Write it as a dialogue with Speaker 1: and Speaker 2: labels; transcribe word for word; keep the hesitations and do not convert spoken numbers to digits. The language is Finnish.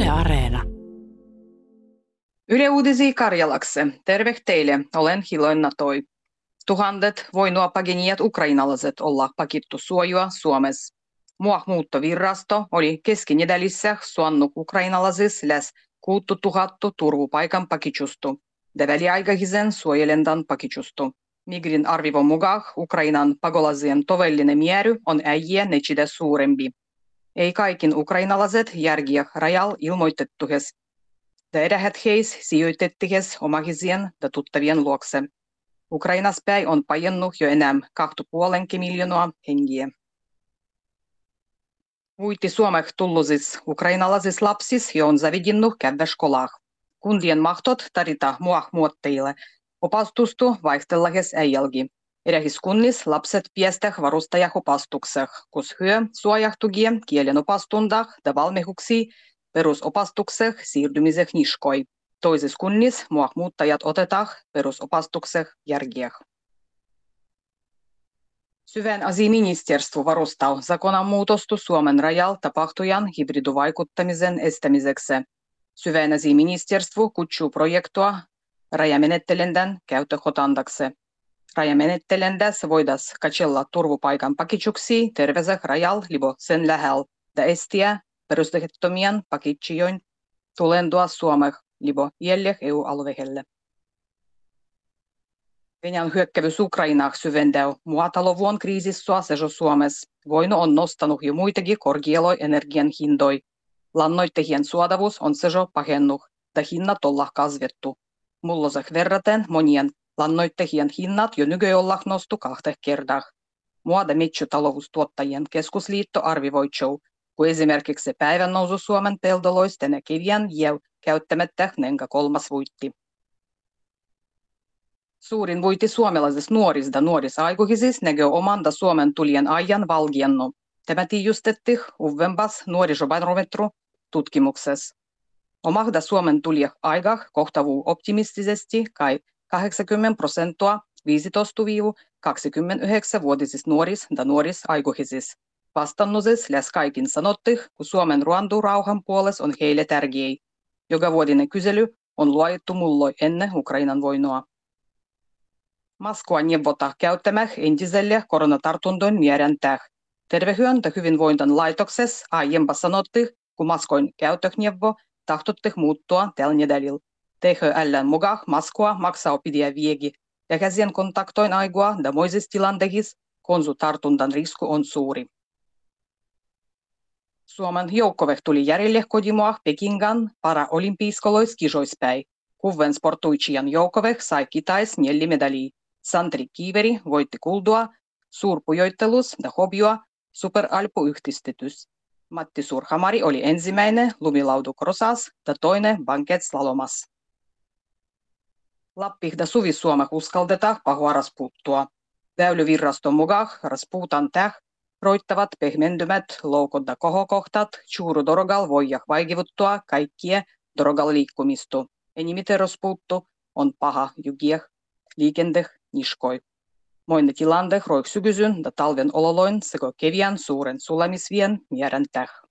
Speaker 1: Yle Areena.
Speaker 2: Yle Uutisia Karjalakse. Terve teille, olen Hiloina Toi. Tuhandet voinua pagenijat ukrainalaiset olla pakittu suojua Suomessa. Muuttovirrasto oli keskinedälissä suonnut ukrainalaisis läs kuuttu tuhattu turvupaikan pakitsustu. Ja väliaikaisen suojelendan pakitsustu. Migrin arvivon mukaan Ukrainan pakolasien tovellinen määrä on äijä nechide suurempi. Ei kaikin ukrainalaiset järkiä rajal ilmoitettuhes. Tähdät heis sijoitettihes omahisien ja tuttavien luokse. Ukrainas päin on pajennut jo enää kahtu puolenkin miljoonaa hengiä. Vuiti Suomeh tullusis ukrainalaisis lapsis jo on zavidinnut käydä skolah. Kundien mahtot tarita muah muotteille. Opastustu vaihtellahes äijälgi. Erähis kunnis lapset piesteh varustajah opastukseh, kus hyö suojahtugie kielen opastundah ja valmihuksi perusopastukseh siirtymiseh niskoi. Toisis kunnis muuttajat otetah perusopastukseh järgieh. Syvän asiaministeriö varustaa zakonanmuutostu Suomen rajalla tapahtujan hybridivaikuttamisen estämiseksi. Syvän asiaministeriö kutsuu projektoa rajamenettelendän käyttöhotandaksi. Rajamenettelendässä voidas katsella turvupaikan pakitsuksi terveeseen rajalla libo sen lähellä ja estiä perusteettomien pakitsijoin tulendua Suomeen libo jäljeh E U-alueelle. Venäjän hyökkäys Ukrainaan syventää maatalouden kriisissä sejo Suomessa. Voino on nostanut jo muitakin korkealoi energian hindoi. Lannoitteiden suodavuus on sejo pahennut ja hinnat ollaan kasvettu. Mulloseh verraten monien lannoitteiden hinnat jo nykyään ollaan nostu kahteen kertaan. Muada metsätaloustuottajien keskusliitto arvioitsuu, kun esimerkiksi päivän nousu Suomen peltoloista näkivien jäu käyttämättä nenkä kolmas vuitti. Suurin vuitti suomalaisista nuorista ja nuorisaikuisista näkyy omanda Suomen tulien ajan valgiennu. Tämä tiijustettiin uudempas nuorisobarometru tutkimuksessa. Omahda Suomen tulijah aigah kohtavuu optimistisesti kai kahdeksankymmentä prosenttia viisitoista–kaksikymmentäyhdeksän-vuotisista nuoris ja nuorisaikuisista. Vastannuses läs kaikin sanottih, kun Suomen ruandu rauhan puolesta on heille tärkeä. Joka vuotinen kysely on luojettu mulloi ennen Ukrainan voinoa. Moskva neuvota käyttämäh entiselle koronatartuntojen määräntäh. Tervehyön ja hyvinvointan laitoksessa aiempa sanottih, kun Moskoin käyttöhneuvo tahtottih muuttua tällä nedälillä. T H L:n mukaan Moskva maksaa pidiä viegi ja käsien kontaktoin aigua ja moisissa tilanteissa konsultartuntan risku on suuri. Suomen joukkoveh tuli järjelle kotimaa Pekingan paraolympiiskolois kisoispäin. Kuven sportuitsijan joukkoveh sai kitais neljä medalia. Santeri Kiiveri voitti kuldua suurpujoittelus ja hobioa superalpuyhdistetys. Matti Surhamari oli ensimmäinen lumilaudukrosas ja toinen banketslalomas. Lappih ja Suvi-Suomeh uskaldetaan pahuaras puuttua. Väylyvirraston mukaan raspuutan täh roittavat pehmendymät loukot ja kohokohtat Tjuuru-dorogal voijah vaikivuttua kaikkia dorogal liikkumistu. Enimiten raspuuttu on paha jugieh liikendeh niskoi. Moinne tilandeh roiksykysyn ja talven ololoin sekä keviän suuren sulamisvien mierän täh.